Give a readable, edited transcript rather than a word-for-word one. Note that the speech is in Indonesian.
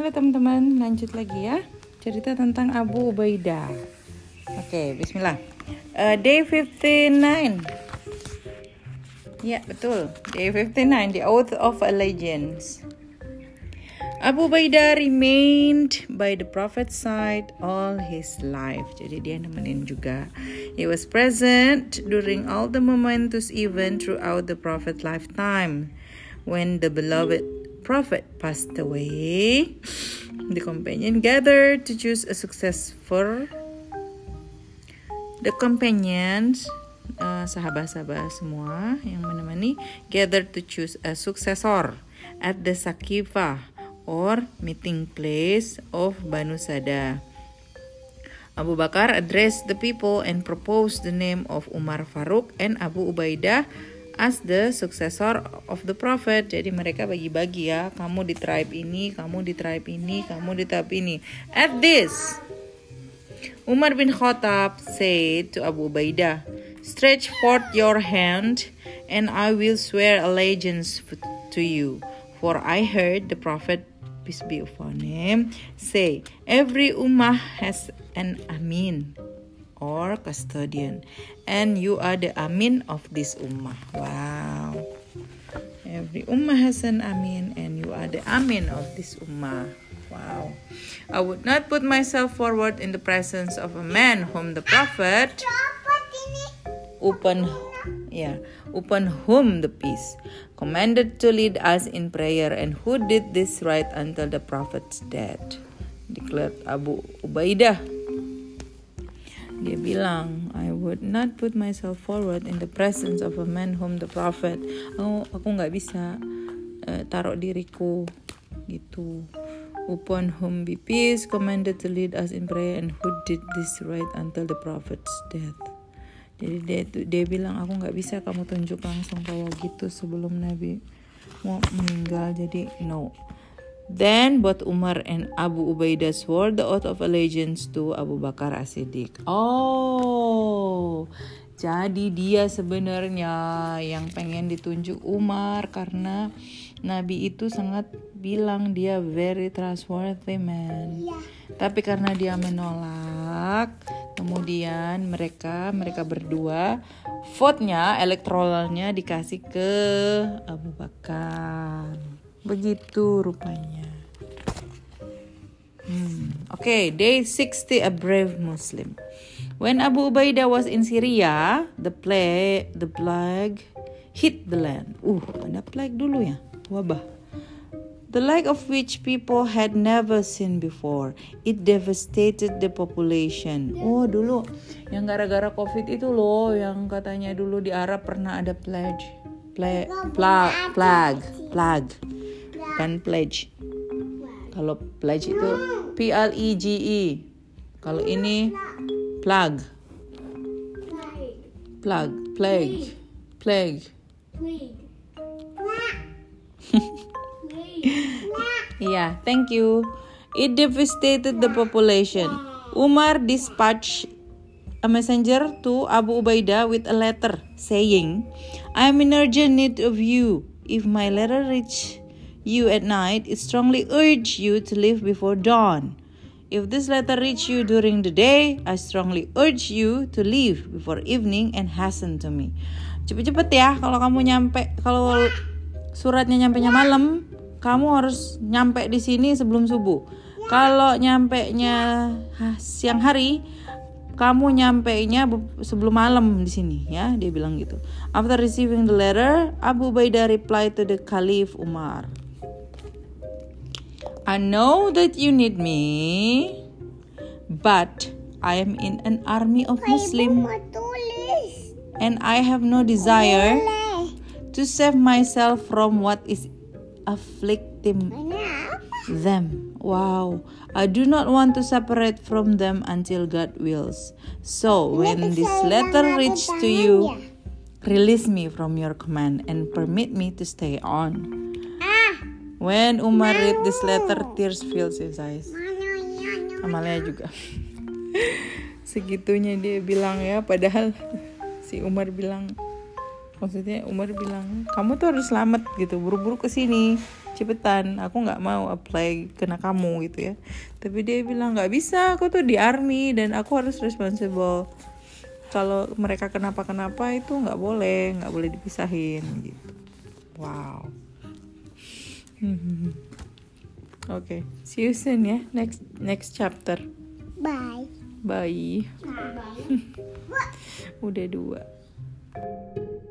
Halo teman-teman, lanjut lagi ya. Cerita tentang Abu Ubaidah. Oke, bismillah. Day 59. Ya, betul. Day 59, the Oath of Allegiance. Abu Ubaidah remained by the Prophet's side all his life. Jadi dia nemenin juga. He was present during all the momentous event throughout the Prophet's lifetime. When the beloved Prophet passed away, the companion gathered to choose a successor. The companions, sahabat-sahabat semua yang menemani, gathered to choose a successor at the Sakifah or meeting place of Banu Sada. Abu Bakar addressed the people and proposed the name of Umar Faruk and Abu Ubaidah as the successor of the Prophet. Jadi mereka bagi-bagi ya, kamu di tribe ini, kamu di tribe ini, kamu di tribe ini. At this, Umar bin Khattab said to Abu Ubaidah, "Stretch forth your hand and I will swear allegiance to you. For I heard the Prophet, peace be upon him, say, every ummah has an amin or custodian, and you are the amin of this ummah." Wow. Every ummah has an amin, and you are the amin of this ummah. Wow. I would not put myself forward in the presence of a man whom the Prophet, upon whom the peace, commanded to lead us in prayer, and who did this right until the Prophet's death, declared Abu Ubaidah. Dia bilang, I would not put myself forward in the presence of a man whom the Prophet, aku nggak bisa taruh diriku gitu. Upon whom be peace, commanded to lead us in prayer, and who did this right until the Prophet's death. Jadi dia bilang, aku nggak bisa kamu tunjuk langsung kayak gitu sebelum Nabi mau meninggal. Jadi no. Then both Umar and Abu Ubaidah swore the oath of allegiance to Abu Bakar As-Siddiq. Oh, jadi dia sebenarnya yang pengen ditunjuk Umar karena Nabi itu sangat bilang dia very trustworthy man. Yeah. Tapi karena dia menolak, kemudian mereka berdua vote-nya, elektoralnya dikasih ke Abu Bakar. Begitu rupanya. Okay, day 60, a brave Muslim. When Abu Ubaidah was in Syria, the plague hit the land. Ada plague dulu ya, wabah. The like of which people had never seen before. It devastated the population. Dulu yang gara-gara COVID itu loh, yang katanya dulu di Arab pernah ada plague. Kan pledge. Kalau pledge itu PLEGE. Kalau ini plague. Yeah, thank you. It devastated the population. Umar dispatched a messenger to Abu Ubaidah with a letter saying, I am in urgent need of you. If my letter reach you at night, it strongly urge you to leave before dawn. If this letter reach you during the day, I strongly urge you to leave before evening and hasten to me. Cepet-cepet ya, kalau suratnya nyampe malam, kamu harus nyampe di sini sebelum subuh. Kalau nyampenya siang hari, kamu nyampenya sebelum malam di sini ya, dia bilang gitu. After receiving the letter, Abu Ubaidah replied to the Caliph Umar, I know that you need me, but I am in an army of Muslim, and I have no desire to save myself from what is afflicting them. Wow. I do not want to separate from them until God wills. So when this letter reaches to you, release me from your command and permit me to stay on. When Umar read this letter, tears filled his eyes. Amalia juga. Segitunya dia bilang ya, padahal si Umar bilang, Maksudnya Umar bilang, kamu tuh harus selamat gitu, buru-buru ke sini, cepetan, aku nggak mau apply kena kamu gitu ya. Tapi dia bilang nggak bisa, aku tuh di army dan aku harus responsible. Kalau mereka kenapa-kenapa itu nggak boleh dipisahin gitu. Wow. Okay, see you soon ya, next chapter. Bye. Bye. Bye. Udah 2.